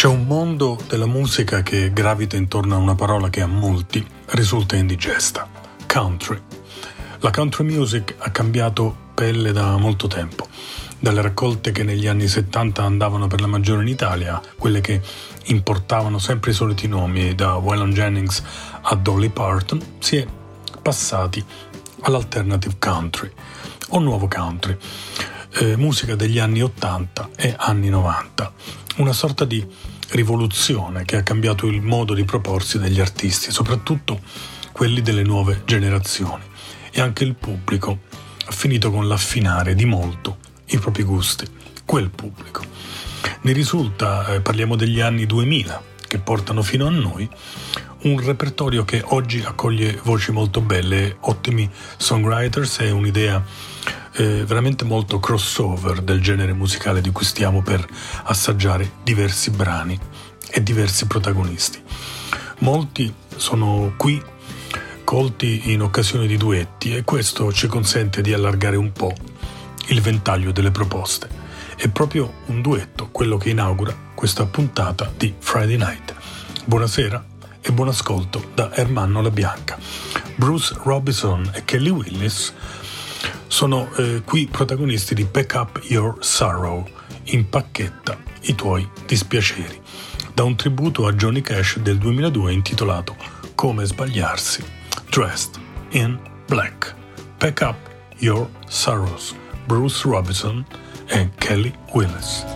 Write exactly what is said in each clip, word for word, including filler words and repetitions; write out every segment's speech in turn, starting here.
C'è un mondo della musica che gravita intorno a una parola che a molti risulta indigesta: country. La country music ha cambiato pelle da molto tempo, dalle raccolte che negli anni settanta andavano per la maggiore in Italia, quelle che importavano sempre i soliti nomi, da Waylon Jennings a Dolly Parton, si è passati all'alternative country o nuovo country, eh, musica degli anni ottanta e anni novanta, una sorta di rivoluzione che ha cambiato il modo di proporsi degli artisti, soprattutto quelli delle nuove generazioni, e anche il pubblico ha finito con l'affinare di molto i propri gusti, quel pubblico. Ne risulta, eh, parliamo degli anni duemila, che portano fino a noi, un repertorio che oggi accoglie voci molto belle, ottimi songwriters e un'idea eh, veramente molto crossover del genere musicale di cui stiamo per assaggiare diversi brani e diversi protagonisti. Molti sono qui colti in occasione di duetti e questo ci consente di allargare un po' il ventaglio delle proposte. È proprio un duetto quello che inaugura questa puntata di Friday Night. Buonasera e buon ascolto da Ermanno La Bianca. Bruce Robinson e Kelly Willis sono eh, qui protagonisti di Pack Up Your Sorrow, impacchetta i tuoi dispiaceri, da un tributo a Johnny Cash del duemiladue intitolato Come sbagliarsi, Dressed in Black. Pack Up Your Sorrows, Bruce Robinson e Kelly Willis.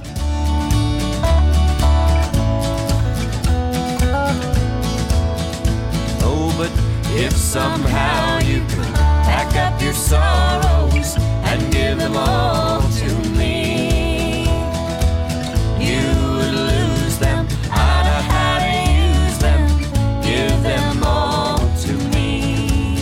Oh, but if somehow you could pack up your sorrows and give them all to me, you would lose them. I know how to use them, give them all to me.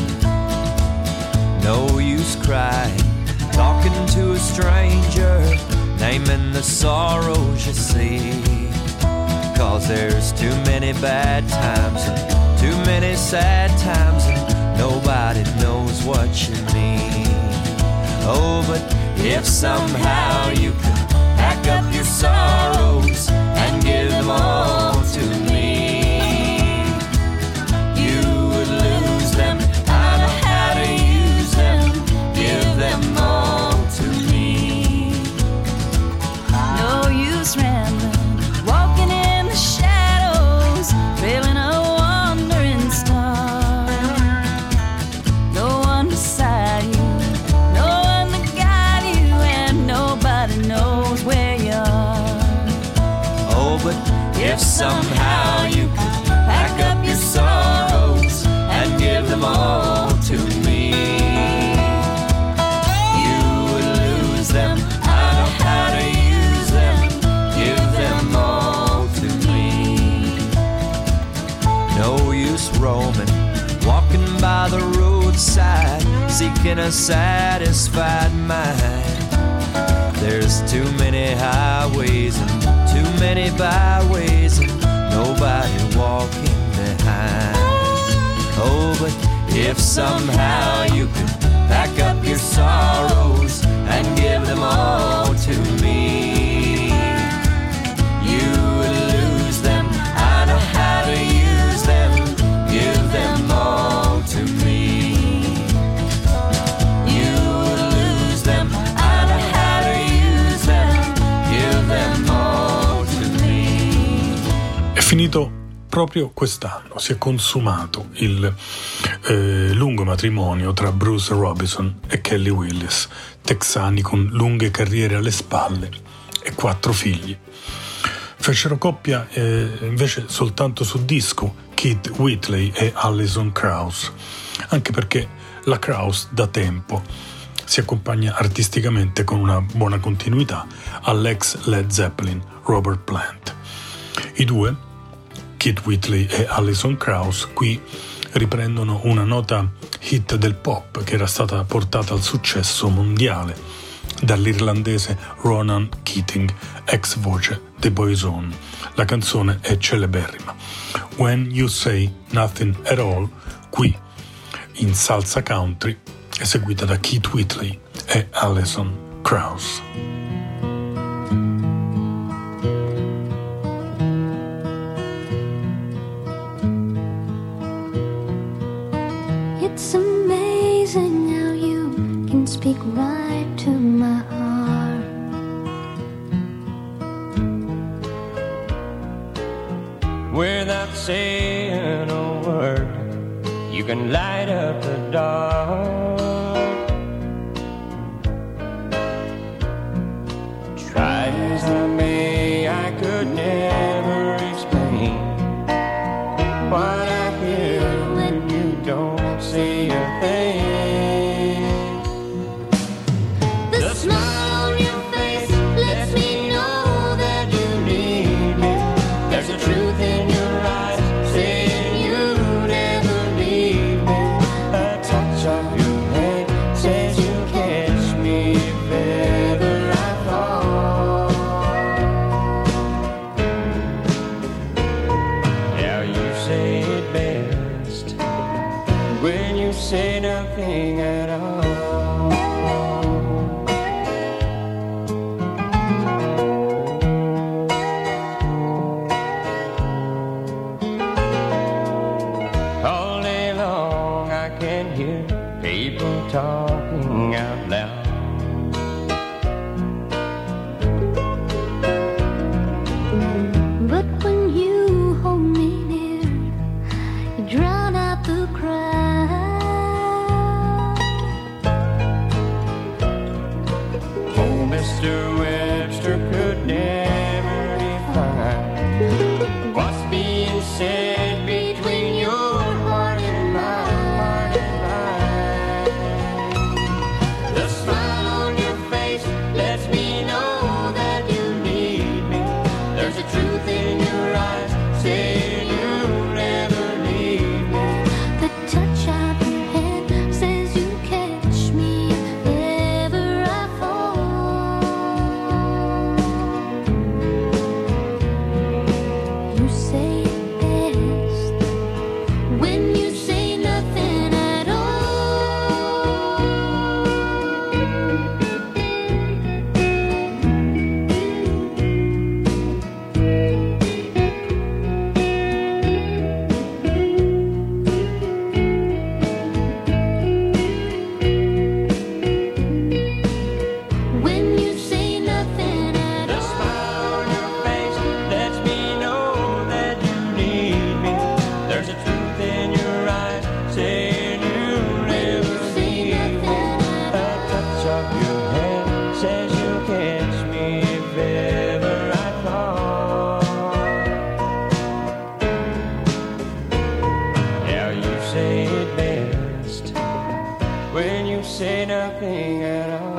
No use crying, talking to a stranger, naming the sorrows you see, 'cause there's too many bad times and too many sad times and nobody knows what you mean. Oh, but if somehow you could pack up your sorrows and give them all to me, you would lose them. I know how to use them, give them all to me. No use rambling, walking in the shadows, feeling a wandering star. No one beside you, no one to guide you, and nobody knows where you are. Oh, but if somehow you could pack up your sorrows and give them all to me, you would lose them. I know how to use them, give them all to me. No use roaming, walking by the roadside, seeking a satisfied mind. There's too many highways and too many byways and nobody walking behind. Oh, but if somehow you could pack up your sorrows and give them all to me, you would lose them. I know how to use them, give them all to me. You would lose them. I know how to use them, give them all to me. È finito proprio quest'anno, si è consumato il eh, lungo matrimonio tra Bruce Robinson e Kelly Willis, texani con lunghe carriere alle spalle e quattro figli. Fecero coppia eh, invece soltanto su disco Keith Whitley e Alison Krauss, anche perché la Krauss da tempo si accompagna artisticamente con una buona continuità all'ex Led Zeppelin Robert Plant. I due, Keith Whitley e Alison Krauss, qui riprendono una nota hit del pop che era stata portata al successo mondiale dall'irlandese Ronan Keating, ex voce dei Boyzone. La canzone è celeberrima. When You Say Nothing at All, qui in salsa country, eseguita da Keith Whitley e Alison Krauss. right to my heart. Without saying a word, you can light up the dark. Try as I may, I could never explain what I hear when you don't say a thing. The smile on your face lets me know that you need me. There's a truth in your eyes saying you never leave me. A touch of your hand says you catch me if ever I fall. Now you say it best when you say nothing at all. All day long I can hear people talking out loud. But when you hold me near, you drown out the crowd. Oh, Mister Webster could never define what's being said between your heart and mine, heart and mine. The smile on your face lets me know that you need me. There's a truth in your eyes saying you never leave me. The touch of your hand says you catch me if ever I fall. You say it best when you say nothing at all. When you say nothing at The all. smile on your face lets me know that you need me. There's a truth in your eyes saying you never leave me. A touch of your hand says you'll catch me if ever I fall. Now you say it best when you say nothing at all.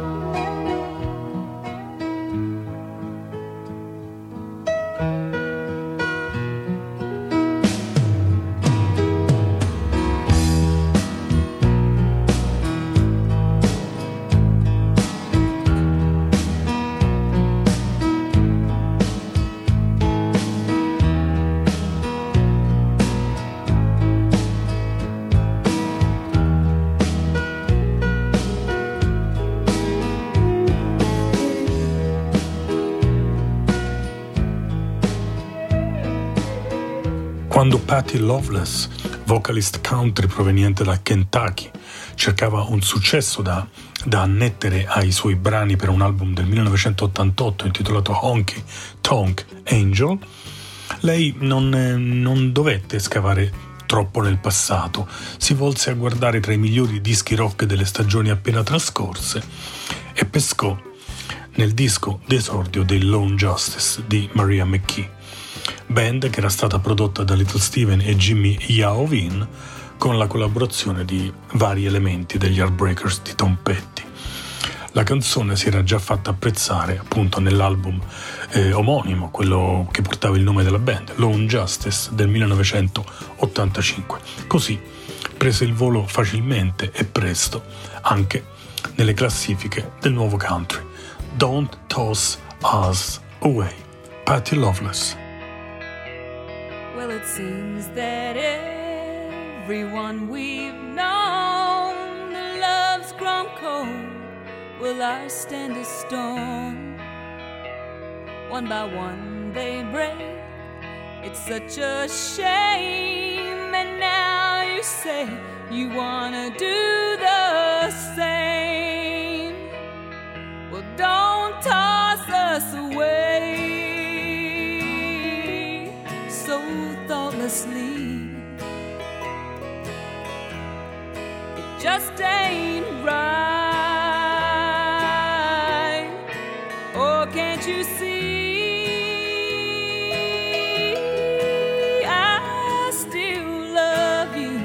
Quando Patty Loveless, vocalist country proveniente dal Kentucky, cercava un successo da, da annettere ai suoi brani per un album del millenovecentottantotto intitolato Honky Tonk Angel, lei non, eh, non dovette scavare troppo nel passato, si volse a guardare tra i migliori dischi rock delle stagioni appena trascorse e pescò nel disco d'esordio dei Lone Justice di Maria McKee, band che era stata prodotta da Little Steven e Jimmy Iovine con la collaborazione di vari elementi degli Heartbreakers di Tom Petty. La canzone si era già fatta apprezzare appunto nell'album eh, omonimo, quello che portava il nome della band, Lone Justice del millenovecentottantacinque. Così prese il volo facilmente e presto anche nelle classifiche del nuovo country. Don't Toss Us Away, Patty Loveless. Well, it seems that everyone we've known, the love's grown cold. Will ours stand a storm? One by one they break. It's such a shame. And now you say you wanna do the same. thoughtlessly. It just ain't right. Oh, can't you see? I still love you.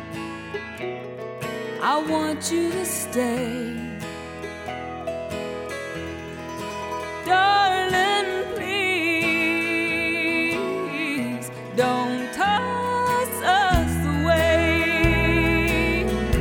I want you to stay. Darling, please don't toss us away.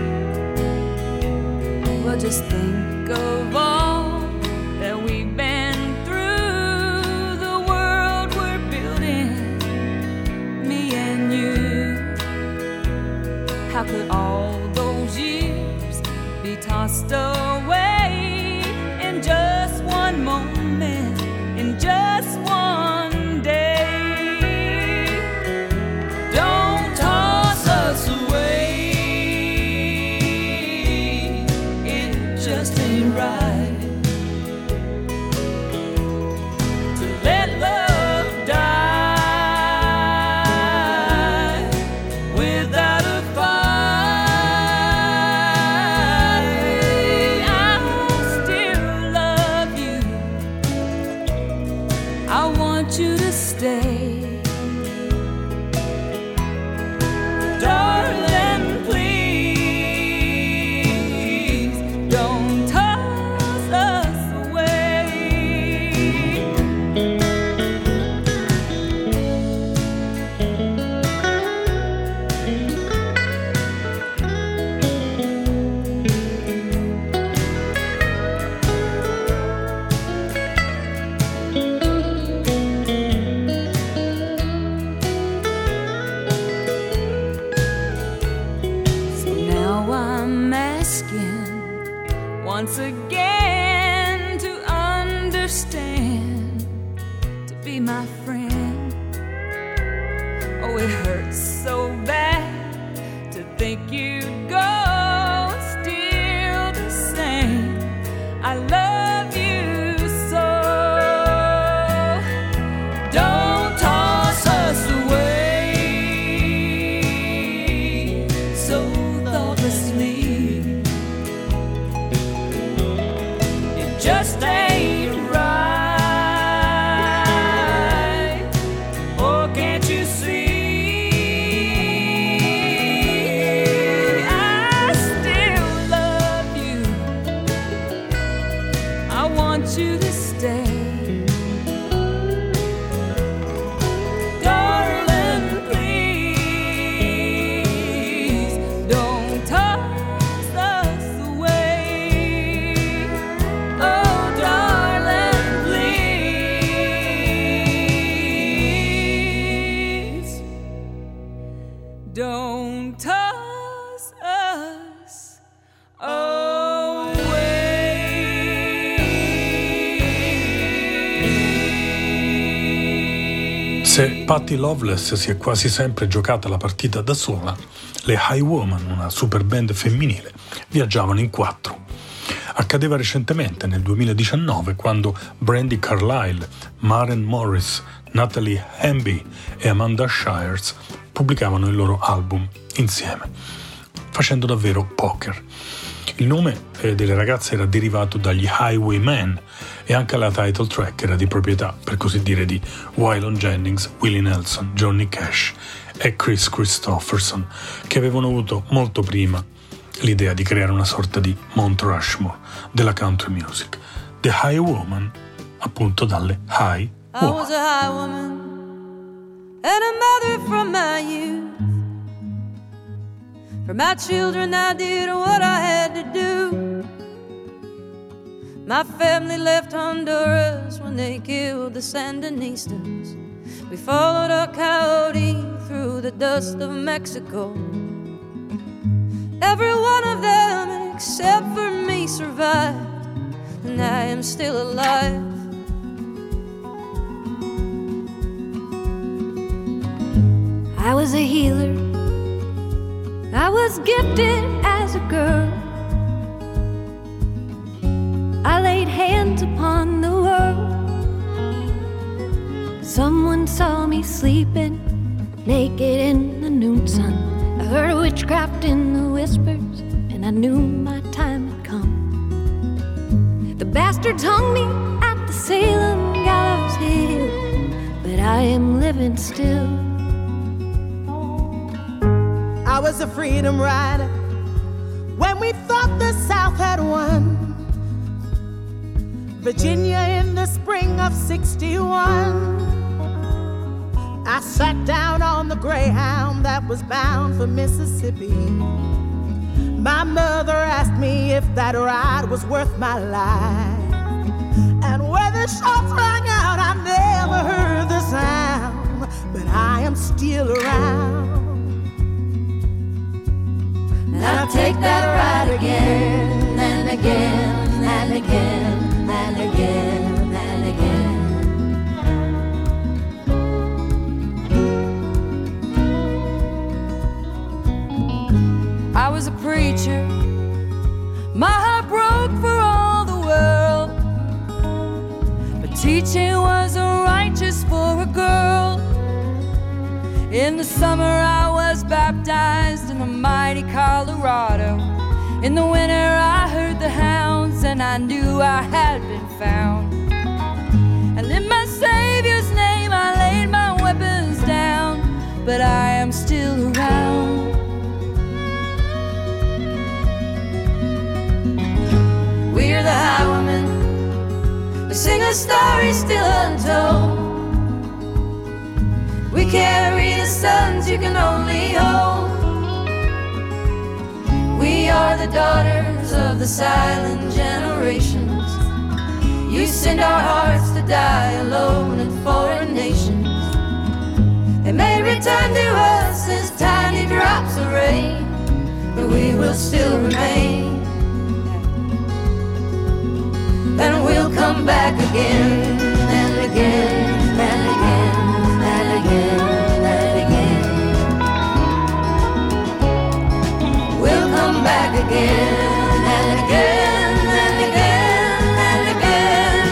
Well, just think of all that we've been through, the world we're building, me and you. How could all those years be tossed away in just one moment, in just one day? Don't toss us away. It just ain't right to let love die without a fight. I still love you. I want you to stay. Darling, please don't toss us away. So now I'm asking once again to understand, to be my friend. Oh, it hurts so bad to think you'd go still the same. I love you so. Don't toss us away so thoughtlessly. It just ain't right. Oh, can't you see? I still love you. I want you to stay. Darling, please don't toss us away. Oh, darling, please don't toss us away. Se Patti Loveless si è quasi sempre giocata la partita da sola, le Highwoman, una super band femminile, viaggiavano in quattro. Accadeva recentemente, nel duemiladiciannove, quando Brandi Carlile, Maren Morris, Natalie Hamby e Amanda Shires pubblicavano il loro album insieme, facendo davvero poker. Il nome eh, delle ragazze era derivato dagli Highwaymen e anche la title track era di proprietà, per così dire, di Waylon Jennings, Willie Nelson, Johnny Cash e Chris Christopherson, che avevano avuto molto prima l'idea di creare una sorta di Mount Rushmore della country music. The Highwoman, appunto dalle High I was Woman. a high woman and a mother from my youth. For my children I did what I had to do. My family left Honduras when they killed the Sandinistas. We followed a coyote through the dust of Mexico. Every one of them except for me survived, and I am still alive. I was a healer. I was gifted as a girl. I laid hands upon the world. Someone saw me sleeping naked in the noon sun. I heard witchcraft in the whispers, and I knew my time had come. The bastards hung me at the Salem gallows hill, but I am living still. I was a freedom rider when we thought the South had won. Virginia in the spring of sixty-one. I sat down on the Greyhound that was bound for Mississippi. My mother asked me if that ride was worth my life. And where the shots rang out, I never heard the sound, but I am still around. And I'll take that ride again and again and again and again and again. I was a preacher, my heart broke for all the world, but teaching wasn't righteous for a girl. In the summer I was baptized in the mighty Colorado. In the winter I heard the hounds and I knew I had been found. And in my Savior's name I laid my weapons down, but I am still around. We're the highwaymen, we sing a story still untold. We carry the sons you can only hold. We are the daughters of the silent generations. You send our hearts to die alone in foreign nations. They may return to us as tiny drops of rain, but we will still remain. And we'll come back again and again and again and again and again. We'll come back again and again and again and again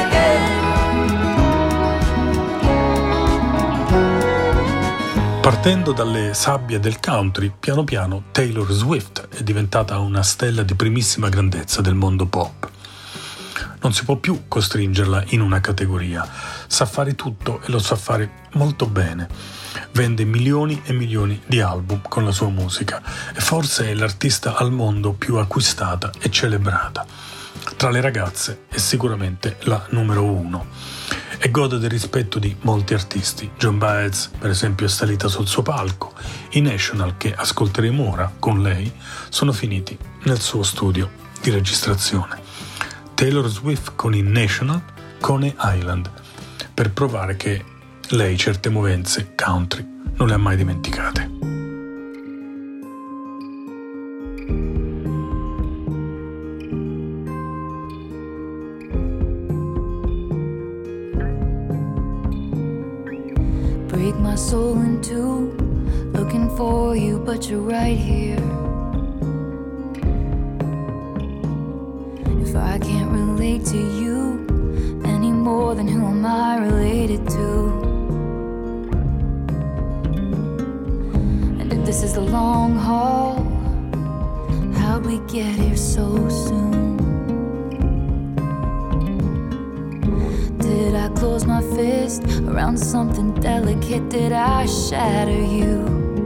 and again. Partendo dalle sabbie del country, piano piano Taylor Swift è diventata una stella di primissima grandezza del mondo pop. Non si può più costringerla in una categoria. Sa fare tutto e lo sa fare molto bene. Vende milioni e milioni di album con la sua musica e forse è l'artista al mondo più acquistata e celebrata. Tra le ragazze è sicuramente la numero uno e gode del rispetto di molti artisti. Joan Baez, per esempio, è salita sul suo palco. I National, che ascolteremo ora con lei, sono finiti nel suo studio di registrazione. Taylor Swift con i National, Coney Island, per provare che lei certe movenze country non le ha mai dimenticate. Break my soul in two, looking for you, but you're right here. If I can't relate to you any more than who am I related to? And if this is the long haul, how'd we get here so soon? Did I close my fist around something delicate? Did I shatter you?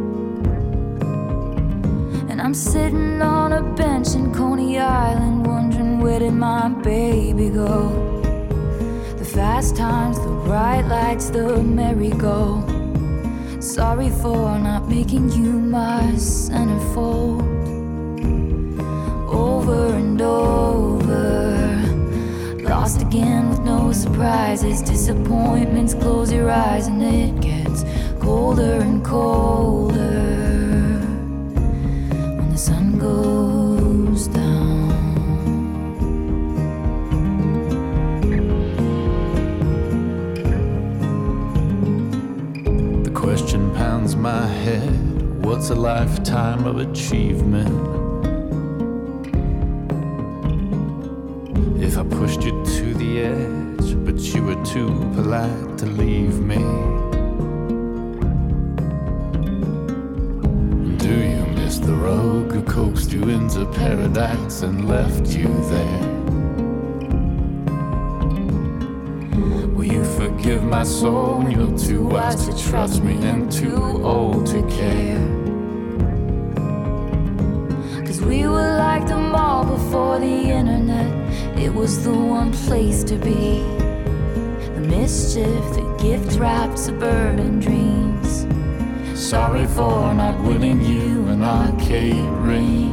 And I'm sitting on a bench in Coney Island, wondering where did my baby go? The fast times, the bright lights, the merry-go. Sorry for not making you my centerfold. Over and over, lost again with no surprises. Disappointments, close your eyes and it gets colder and colder when the sun goes down. The question pounds my head, what's a lifetime of achievement? If I pushed you to the edge, but you were too polite to leave me. coaxed you into paradise and left you there. Will you forgive my soul? You're too wise to trust me and too old to care. Cause we were like the mall before the internet. It was the one place to be. The mischief, the gift wrapped suburban dreams. Sorry for not winning you an arcade ring.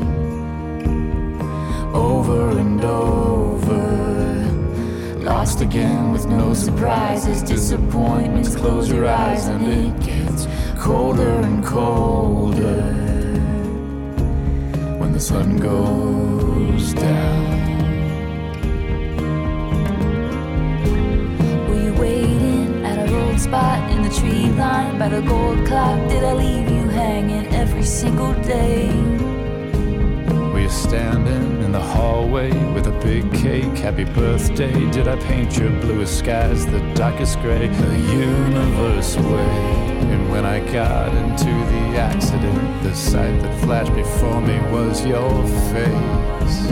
Over and over, lost again with no surprises, disappointments. Close your eyes and it gets colder and colder when the sun goes down. Spot in the tree line by the gold clock. Did I leave you hanging every single day? Were you standing in the hallway with a big cake? Happy birthday. Did I paint your bluest skies the darkest gray? The universe away. And when I got into the accident, the sight that flashed before me was your face.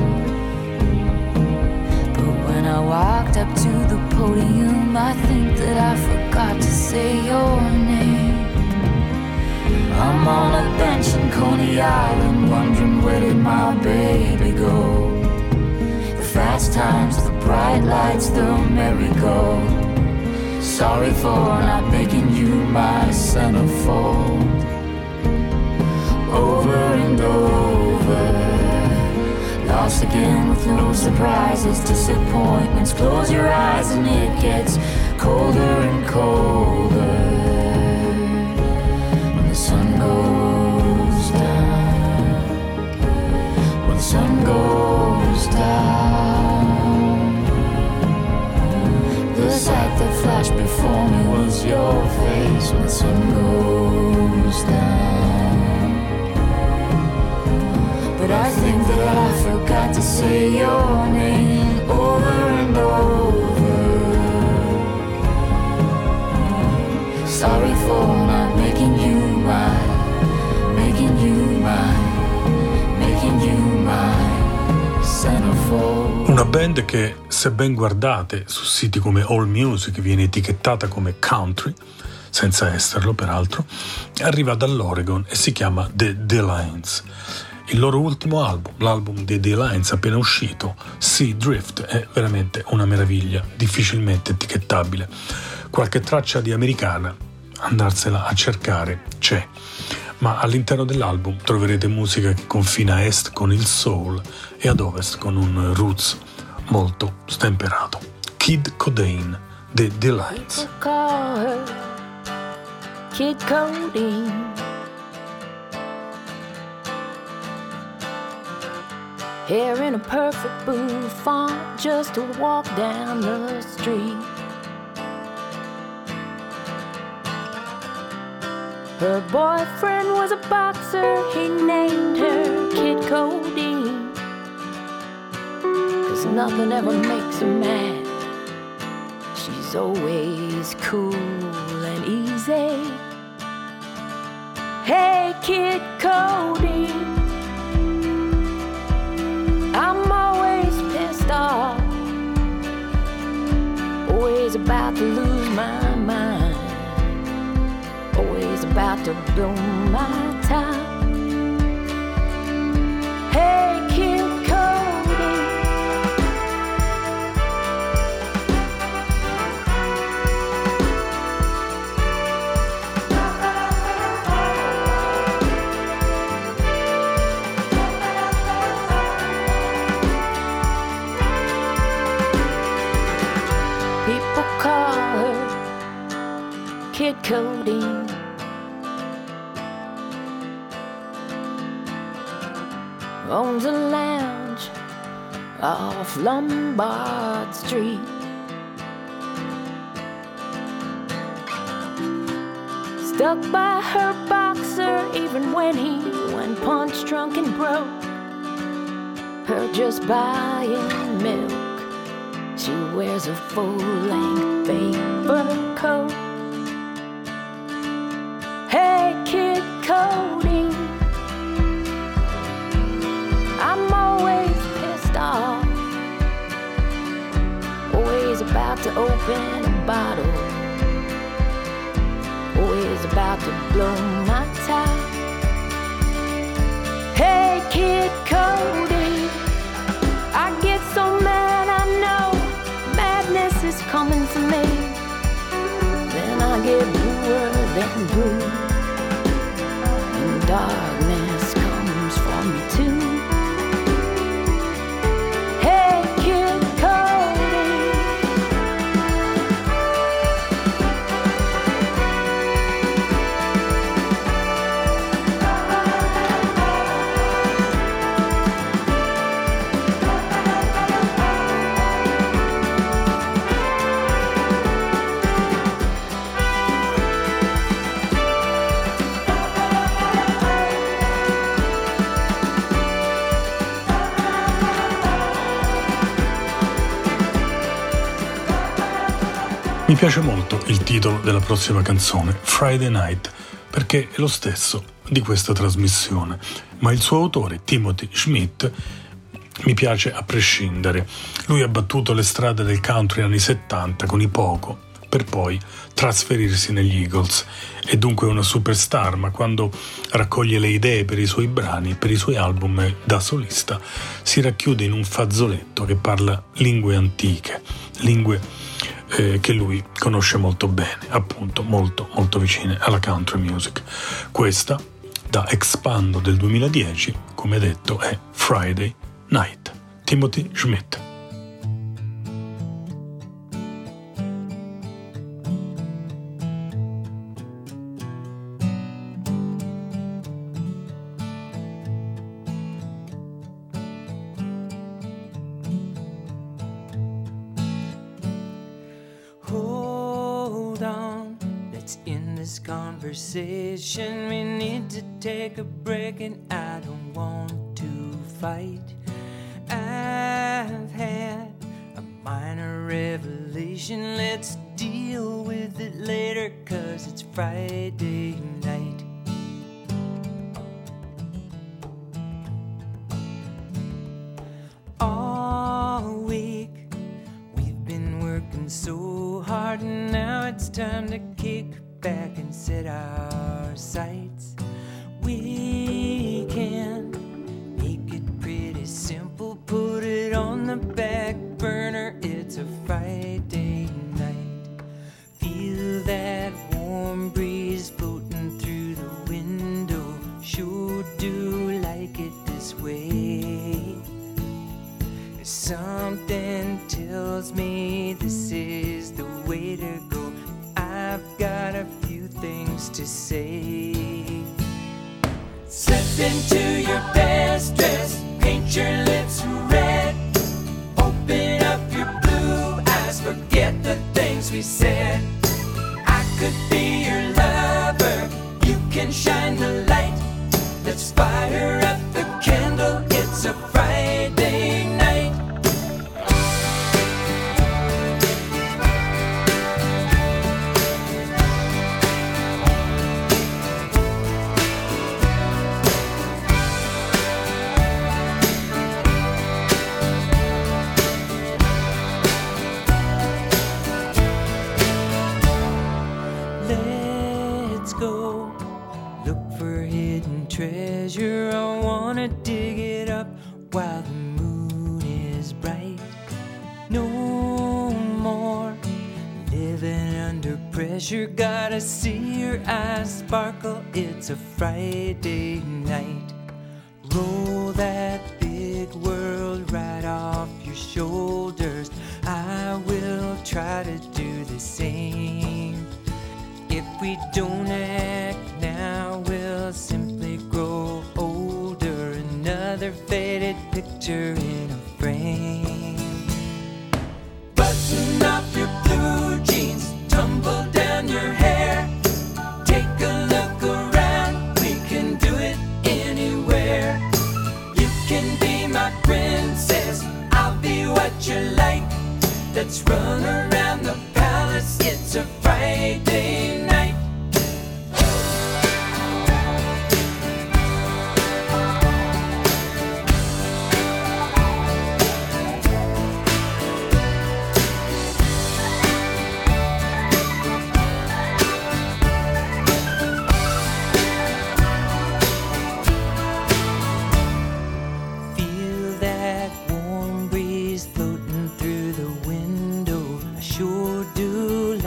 When I walked up to the podium, I think that I forgot to say your name. I'm on a bench in Coney Island, wondering where did my baby go? The fast times, the bright lights, the merry-go. Sorry for not making you my centerfold. Over and over, lost again with no surprises, disappointments. Close your eyes and it gets colder and colder when the sun goes down. When the sun goes down, the sight that flashed before me was your face. When the sun goes down, but I think that I forgot to say your name over and over. Sorry for not making you mine, making you mine, making you mine, centerfold. Una band che, se ben guardate su siti come AllMusic, viene etichettata come country, senza esserlo peraltro, arriva dall'Oregon e si chiama The D-Lines. Il loro ultimo album, l'album dei D-Lines appena uscito, Sea Drift, è veramente una meraviglia, difficilmente etichettabile. Qualche traccia di americana, andarsela a cercare, c'è. Ma all'interno dell'album troverete musica che confina a est con il soul e ad ovest con un roots molto stemperato. Kid Codeine, The D-Lines. Kid Codeine. Hair in a perfect bouffant just to walk down the street. Her boyfriend was a boxer, he named her Kid Codeine. 'Cause nothing ever makes her mad, she's always cool and easy. Hey Kid Codeine, I'm always pissed off, always about to lose my mind, always about to blow my top. Hey Kid Codeine, people call her Kid Codeine. Owns a lounge off Lombard Street. Stuck by her boxer even when he went punch drunk and broke. Her just buying milk, she wears a full-length paper coat. Hey Kid Codeine, is about to open a bottle. Oh, he's about to blow my top. Hey, Kid Cody, I get so mad, I know madness is coming for me. Then I get bluer than blue, and darkness comes for me too. Hey, Kid Cody, Mi piace molto il titolo della prossima canzone, Friday Night, perché è lo stesso di questa trasmissione, ma il suo autore, Timothy Schmidt, mi piace a prescindere. Lui ha battuto le strade del country anni settanta con i Poco, per poi trasferirsi negli Eagles. È dunque una superstar, ma quando raccoglie le idee per i suoi brani, per i suoi album da solista, si racchiude in un fazzoletto che parla lingue antiche, lingue Eh, che lui conosce molto bene, appunto molto molto vicine alla country music. Questa, da Expando del duemiladieci, come detto, è Friday Night, Timothy Schmidt. Conversation, we need to take a break, and I don't want to fight. I've had a minor revelation, let's deal with it later, 'cause it's Friday night. All week we've been working so hard, and now it's time to kick back and set our sights. We can make it pretty simple, put it on the back burner. It's a Friday night. Feel that warm breeze floating through the window. Sure do like it this way. Something tells me this is the way to go. I've got a few things to say. Slip into your best dress, paint your lips red, open up your blue eyes, forget the things we said. I could be your lover, you can shine the light. Let's fire up the candle, it's a Friday night. Treasure, I wanna dig it up while the moon is bright. No more living under pressure, gotta see your eyes sparkle, it's a Friday night. Roll that big world right off your shoulders, I will try to do the same. If we don't act now, we'll simply grow older, another faded picture in a frame. Button up your blue jeans, tumble down your hair, take a look around, we can do it anywhere. You can be my princess, I'll be what you like. Let's run around the palace, it's a Friday night.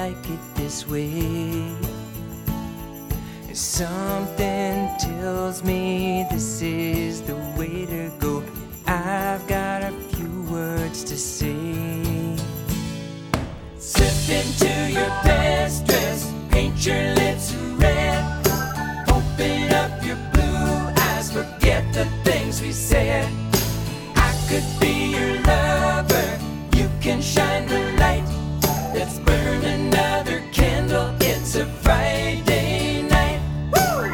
like it this way. Something tells me this is the way to go. I've got a few words to say. Slip into your best dress, paint your lips red, open up your blue eyes, forget the things we said. I could be your lover, you can shine the light. Let's burn another candle, it's a Friday night. Woo!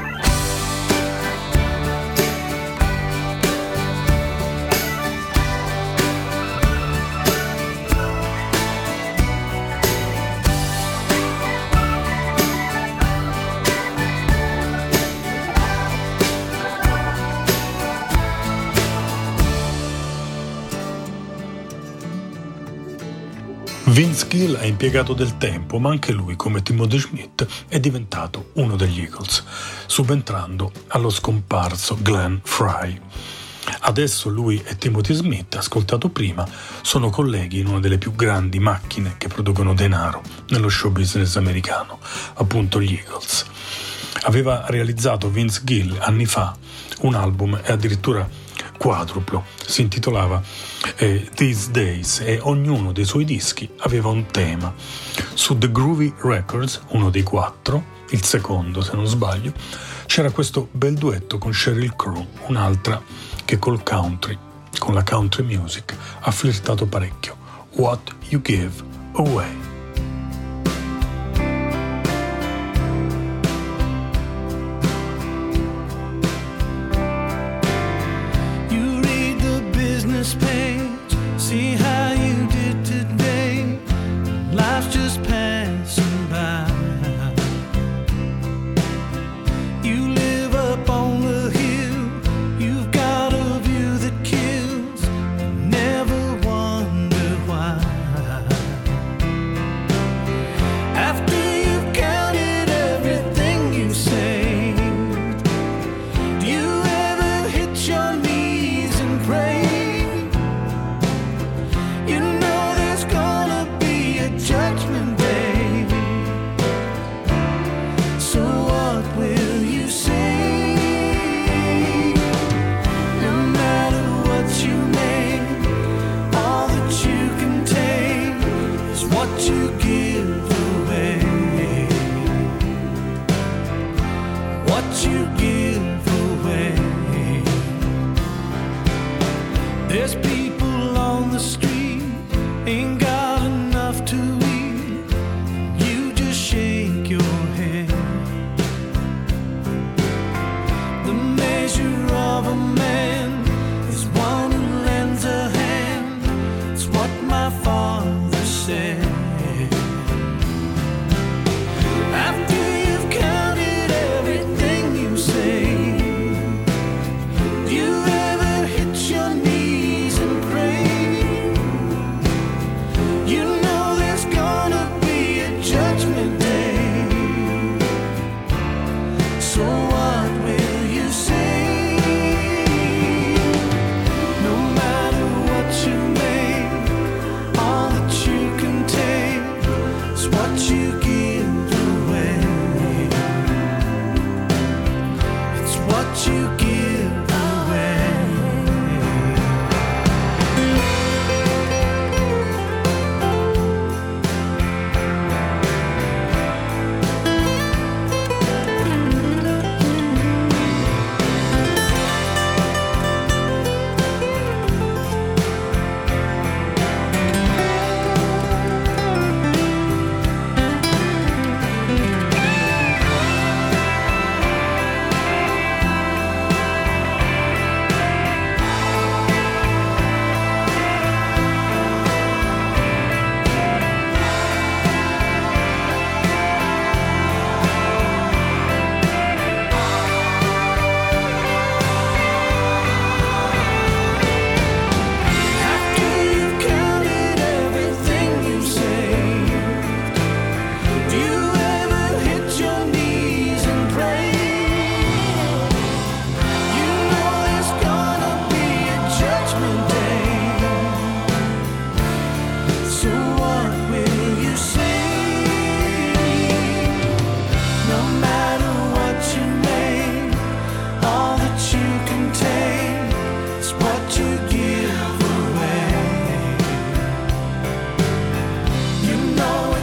Vince Gill ha impiegato del tempo, ma anche lui, come Timothy Schmidt, è diventato uno degli Eagles, subentrando allo scomparso Glenn Frey. Adesso lui e Timothy Smith, ascoltato prima, sono colleghi in una delle più grandi macchine che producono denaro nello show business americano, appunto gli Eagles. Aveva realizzato Vince Gill anni fa un album e addirittura quadruplo, si intitolava eh, These Days, e ognuno dei suoi dischi aveva un tema. Su The Groovy Records, uno dei quattro, il secondo se non sbaglio, c'era questo bel duetto con Sheryl Crow, un'altra che col country, con la country music, ha flirtato parecchio. What You Give Away. Page, see how you did today. Life's just passing by. You live up on the hill, you've got a view that kills, never wonder why.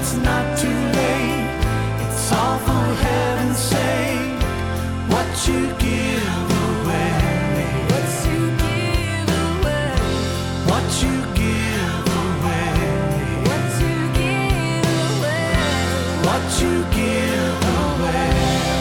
it's not too late. It's all for heaven's sake. What you give away, What you give away, what you give away, what you give away, what you give away.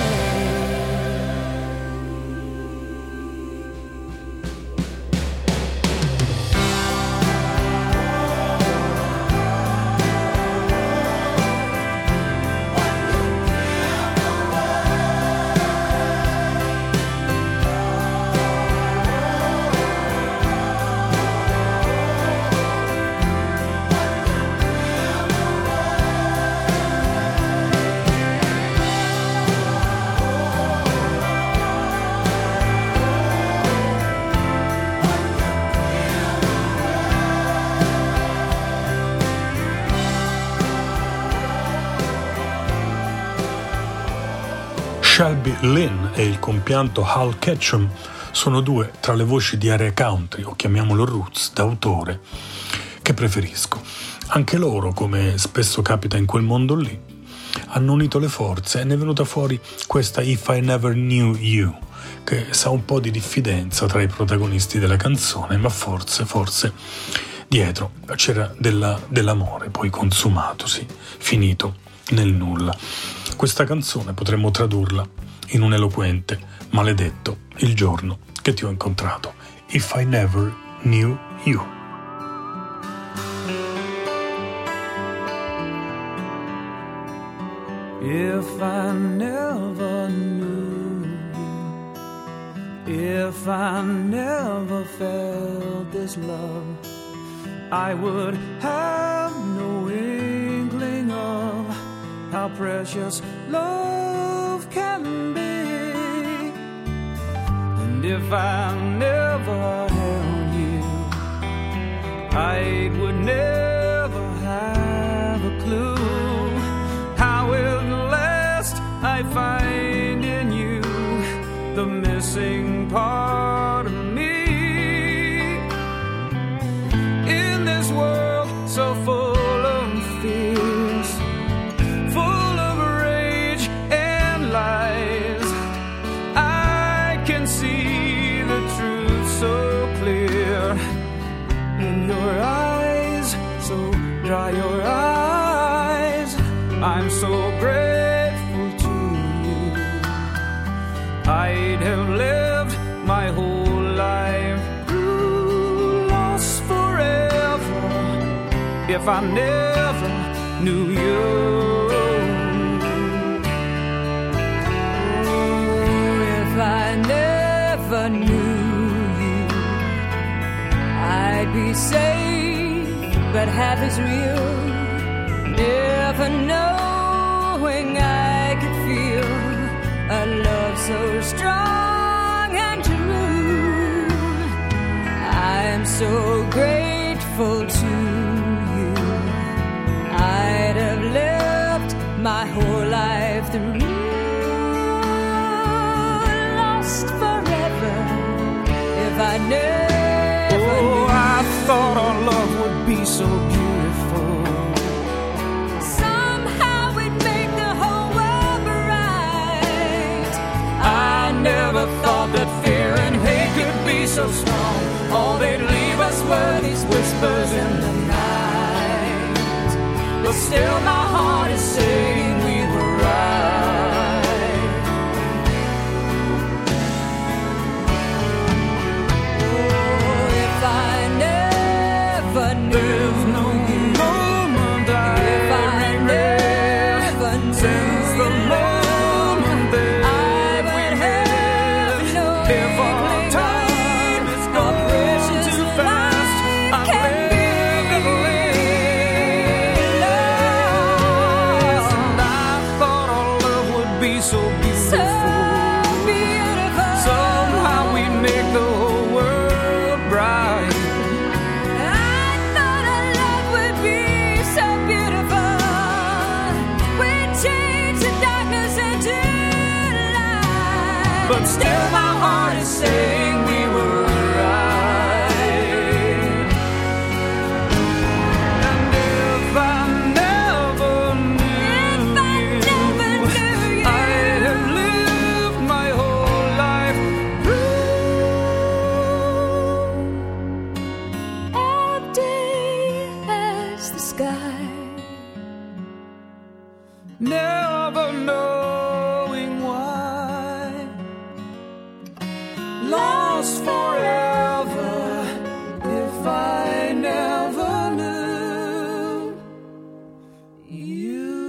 Shelby Lynn e il compianto Hal Ketchum sono due tra le voci di area country, o chiamiamolo roots, d'autore, che preferisco. Anche loro, come spesso capita in quel mondo lì, hanno unito le forze e ne è venuta fuori questa If I Never Knew You, che sa un po' di diffidenza tra i protagonisti della canzone, ma forse, forse dietro c'era della, dell'amore poi consumatosi, finito nel nulla. Questa canzone potremmo tradurla in un eloquente maledetto il giorno che ti ho incontrato. If I Never Knew You. If I never knew you, if I never felt this love, I would have no inkling of how precious love can be. And if I never held you, I would never have a clue how at last I find in you the missing part of me. In this world so full of fears, full of rage and lies, I can see the truth so clear. In your eyes, so dry your eyes, I'm so grateful to you. I'd have lived my whole life through, lost forever, if I never knew you. Oh, if I never knew you, I'd be safe, but half as real. Never knowing I could feel a love so strong and true. I'm so grateful to you. I'd have lived my whole life through, lost forever if I never Oh, knew. I thought our love would be so beautiful. Somehow we'd make the whole world bright. I never thought that fear and hate could be so strong. All they'd leave us were these whispers in the night. But still my heart is saying we were right. Oh, if I never knew. There's no moment I If I never knew since the moment that I would we have met. no If our inkling time of is how gone precious too fast, life I've can lived and lived, Love, and I thought our love would be so so beautiful. beautiful. Somehow we'd make the whole world bright. I thought our love would be so beautiful. We'd change the darkness into light. But still my heart is saying we were right. And if I never never knowing why, lost forever if I never knew you.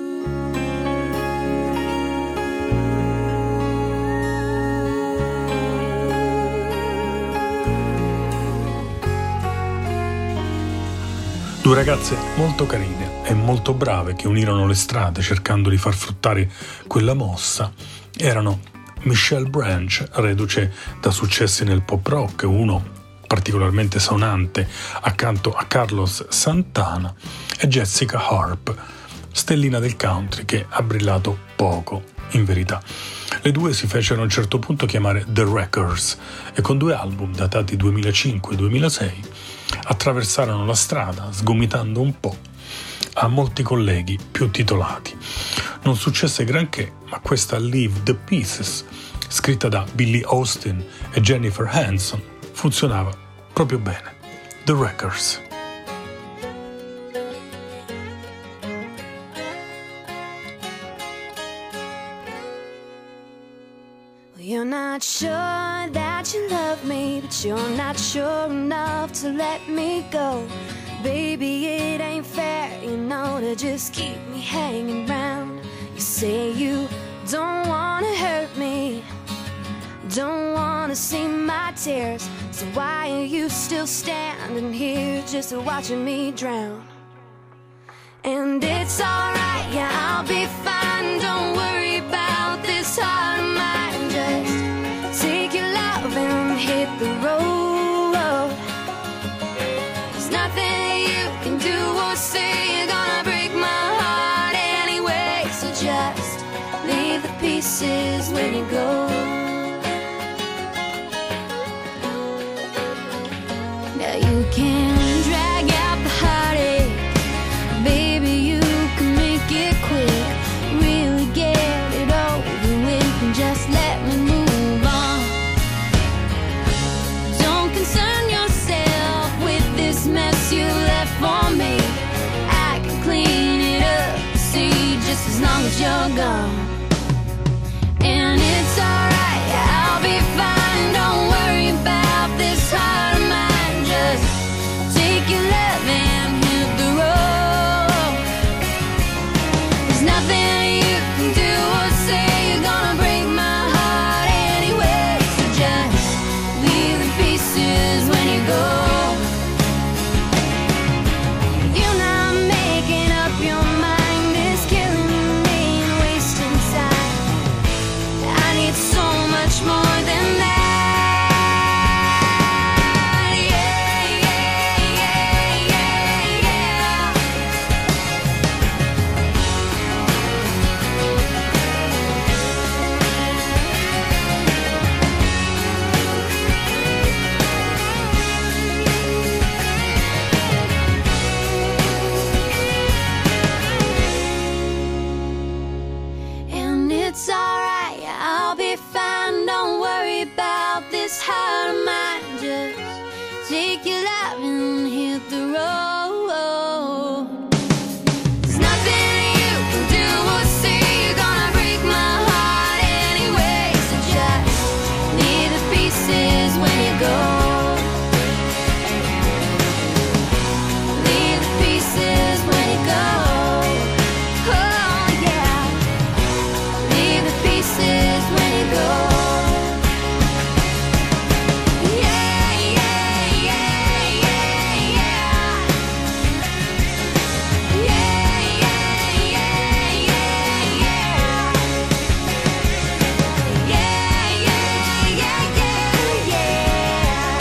Due ragazze molto carine e molto brave che unirono le strade cercando di far fruttare quella mossa erano Michelle Branch, reduce da successi nel pop rock, uno particolarmente sonante accanto a Carlos Santana, e Jessica Harp, stellina del country che ha brillato poco in verità. Le due si fecero a un certo punto chiamare The Wreckers e con due album datati duemilacinque e duemilasei attraversarono la strada sgomitando un po' a molti colleghi più titolati. Non successe granché, ma questa Leave the Pieces, scritta da Billy Austin e Jennifer Hanson, funzionava proprio bene. The Wreckers. You're not sure that you love me, but you're not sure enough to let me go. Baby, it ain't fair, you know, to just keep me hanging round. You say you don't wanna hurt me, don't wanna see my tears, so why are you still standing here just watching me drown? And it's alright, yeah, I'll be fine, don't worry about this heart of mine. Just take your love and hit the road. There's nothing you can do or say, you're gonna break my heart anyway. So just leave the pieces when you go. Now you can drag out the heartache, baby, you can make it quick. Really get it over with and just let me move on. Don't concern yourself with this mess you left for me. I can clean it up, see, just as long as you're gone. And it's alright, I'll be fine, don't worry about this heart of mine. Just take your love and hit the road. There's nothing you can do or say, you're gonna break my heart anyway. So just leave the pieces when you go. You're not making up your mind, it's killing me and wasting time. I need so much more than that. Yeah, yeah, yeah, yeah, yeah. And it's alright, I'll be fine, don't worry about this heart of mine. Just take your love and hit the road. There's nothing you can do or say, you're gonna break my heart anyway. So just leave the pieces when you go. Leave the pieces when you go. Oh yeah. Leave the pieces when you go. Yeah, yeah, yeah, yeah, yeah. Yeah, yeah, yeah, yeah, yeah. Yeah, yeah, yeah, yeah, yeah.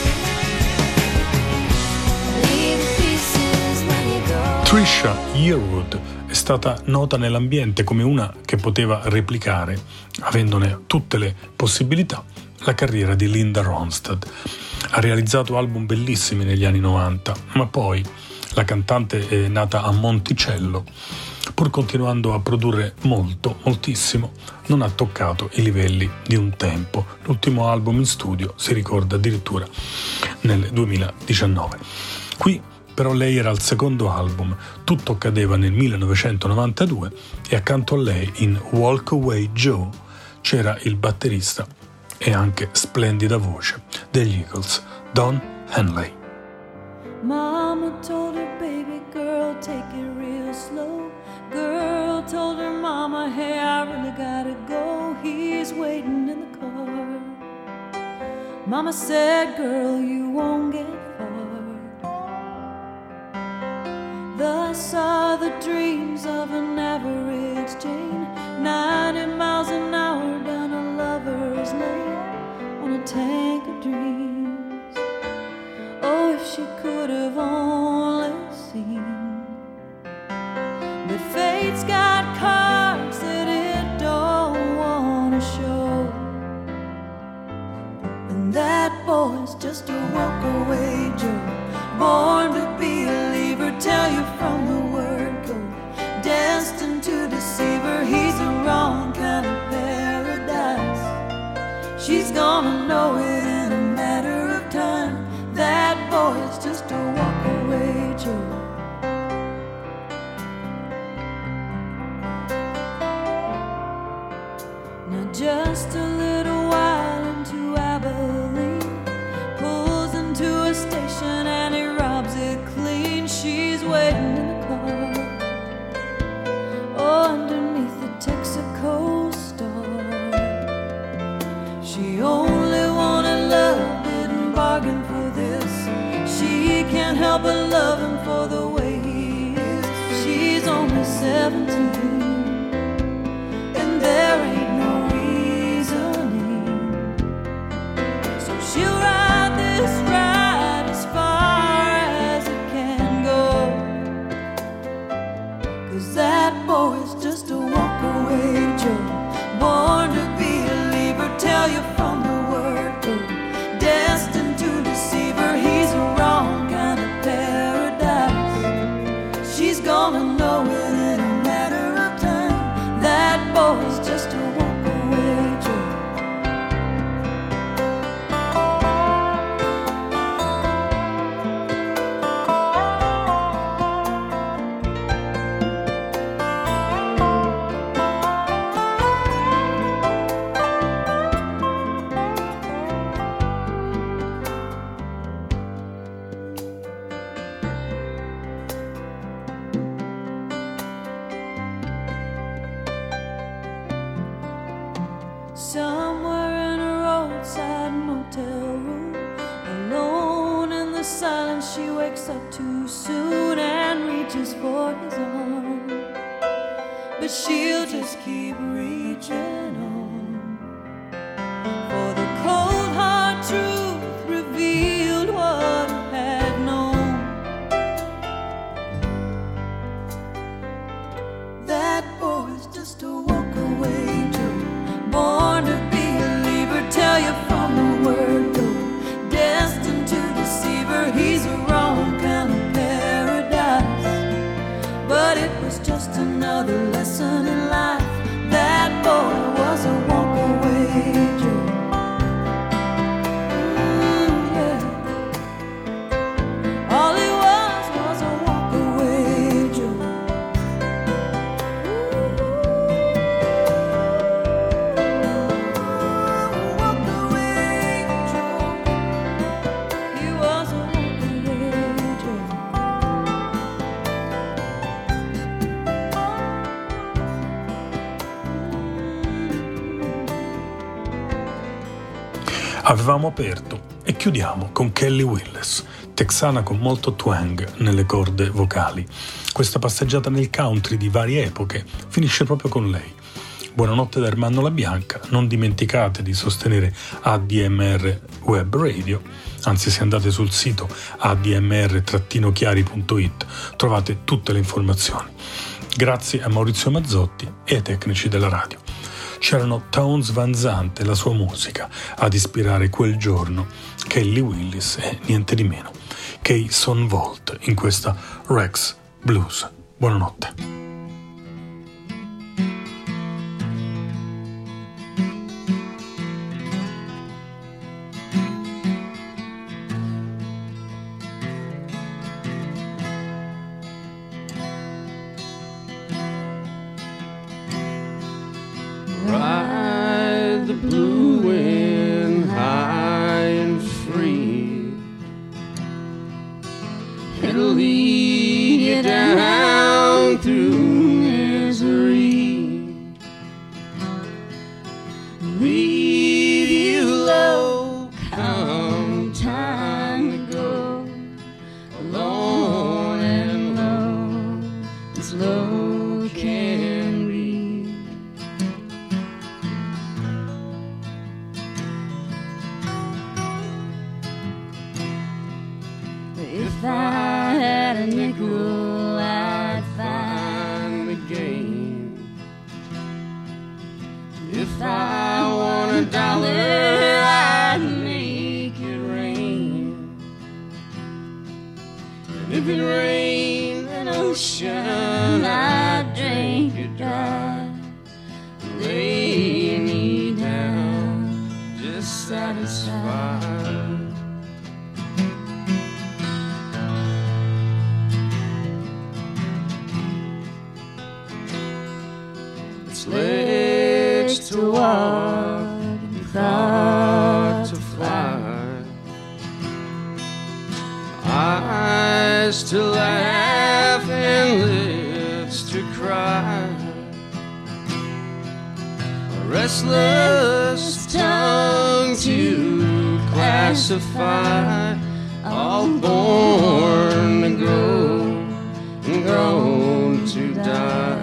Leave the pieces when you go. Trisha Yearwood è stata nota nell'ambiente come una che poteva replicare, avendone tutte le possibilità, la carriera di Linda Ronstadt. Ha realizzato album bellissimi negli anni novanta, ma poi la cantante è nata a Monticello. Pur continuando a produrre molto, moltissimo, non ha toccato i livelli di un tempo. L'ultimo album in studio si ricorda addirittura nel duemiladiciannove. Qui però lei era al secondo album, tutto accadeva nel millenovecentonovantadue e accanto a lei in Walk Away Joe c'era il batterista e anche splendida voce degli Eagles, Don Henley. Mama told her baby girl, take it real slow. Girl told her mama, hey, I really gotta go. He's waiting in the car. Mama said, girl, you won't get far. Thus are the dreams of an average Jane, ninety miles an hour down a lover's lane on a tank of dreams. Oh, if she could have only seen. But fate's got cards that it don't wanna show, and that boy's just a walk-away Joe, born to be a leaver, tell you from the word go, destined to deceive her. He's the wrong kind of paradise. She's gonna know it in a matter of time. That boy's just a walk-away Joe. Now just a little while into Abilene, pulls into a station and he robs it clean. She's waiting in the car, oh, underneath the Texaco star. She only wanted love, didn't bargain for this. She can't help but love him for the way he is. She's only seventeen, and there ain't no reasoning. So she'll ride this ride as far as it can go, 'cause that boy's just a walk-away Joe, born to be a leaver, tell you from the word go, destined to deceive her. He's a wrong kind of paradise. She's gonna know it in a matter of time. That boy's just a walk-away Joe. Somewhere in a roadside motel room, alone in the silence, she wakes up too soon and reaches for his arm, but she'll just keep reaching on, for the cold hard truth revealed what I had known. That boy's just a walk-away Joe, born to be a leaver, tell you from the word go, destined to deceive her. He's a wrong kind of paradise, but it was just another lesson in life. That boy was a walk-away Joe. Mm, yeah. All he was was a walk-away Joe. Avevamo aperto e chiudiamo con Kelly Willis, texana con molto twang nelle corde vocali. Questa passeggiata nel country di varie epoche finisce proprio con lei. Buonanotte da Ermanno La Bianca, non dimenticate di sostenere A D M R Web Radio, anzi se andate sul sito a d m r chiari punto it trovate tutte le informazioni. Grazie a Maurizio Mazzotti e ai tecnici della radio. C'erano Townes Van Zandt e la sua musica ad ispirare quel giorno Kelly Willis e niente di meno che i Son Volt in questa Rex Blues. Buonanotte. down through misery, leave you low come time to go, alone and low as low can be. If I had a nickel, I'd find the game. If I want a dollar, I'd make it rain. And if it rained an ocean, I'd drink it dry. Lay me down, just satisfied. Legs to walk and thought to fly, eyes to laugh and lips to cry, a restless tongue to classify, all born to grow and grown to die.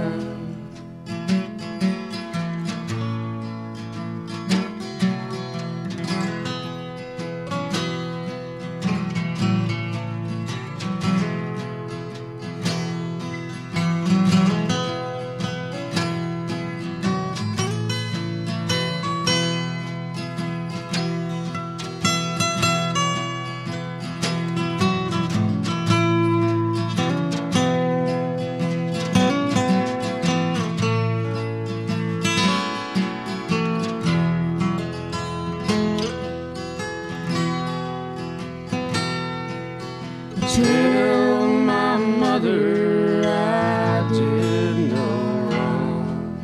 Tell my mother I did no wrong.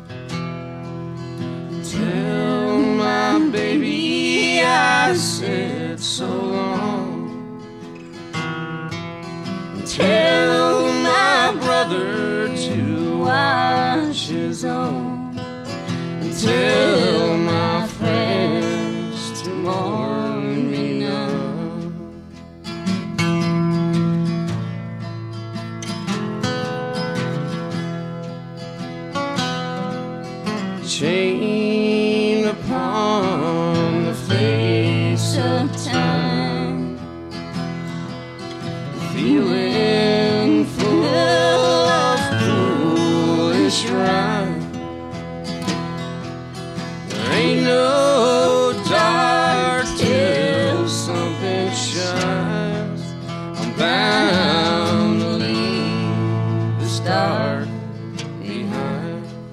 Tell my baby I said so long. Tell my brother to watch his own. Tell my friends to mourn me now. Chain upon the face of time, feeling full of foolish rhyme. There ain't no dark till something shines. I'm bound to leave this dark behind.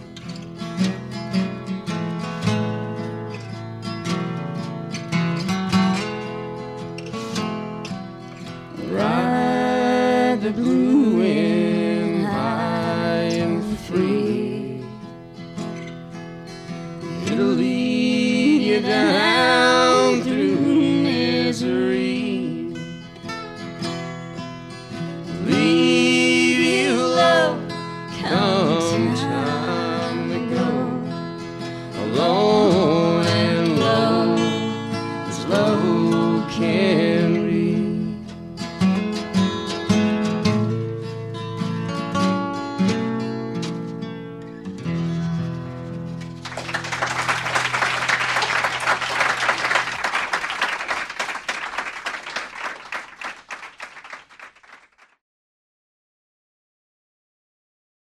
Ride the blue wind high and free. It'll lead you down through misery, leave you low come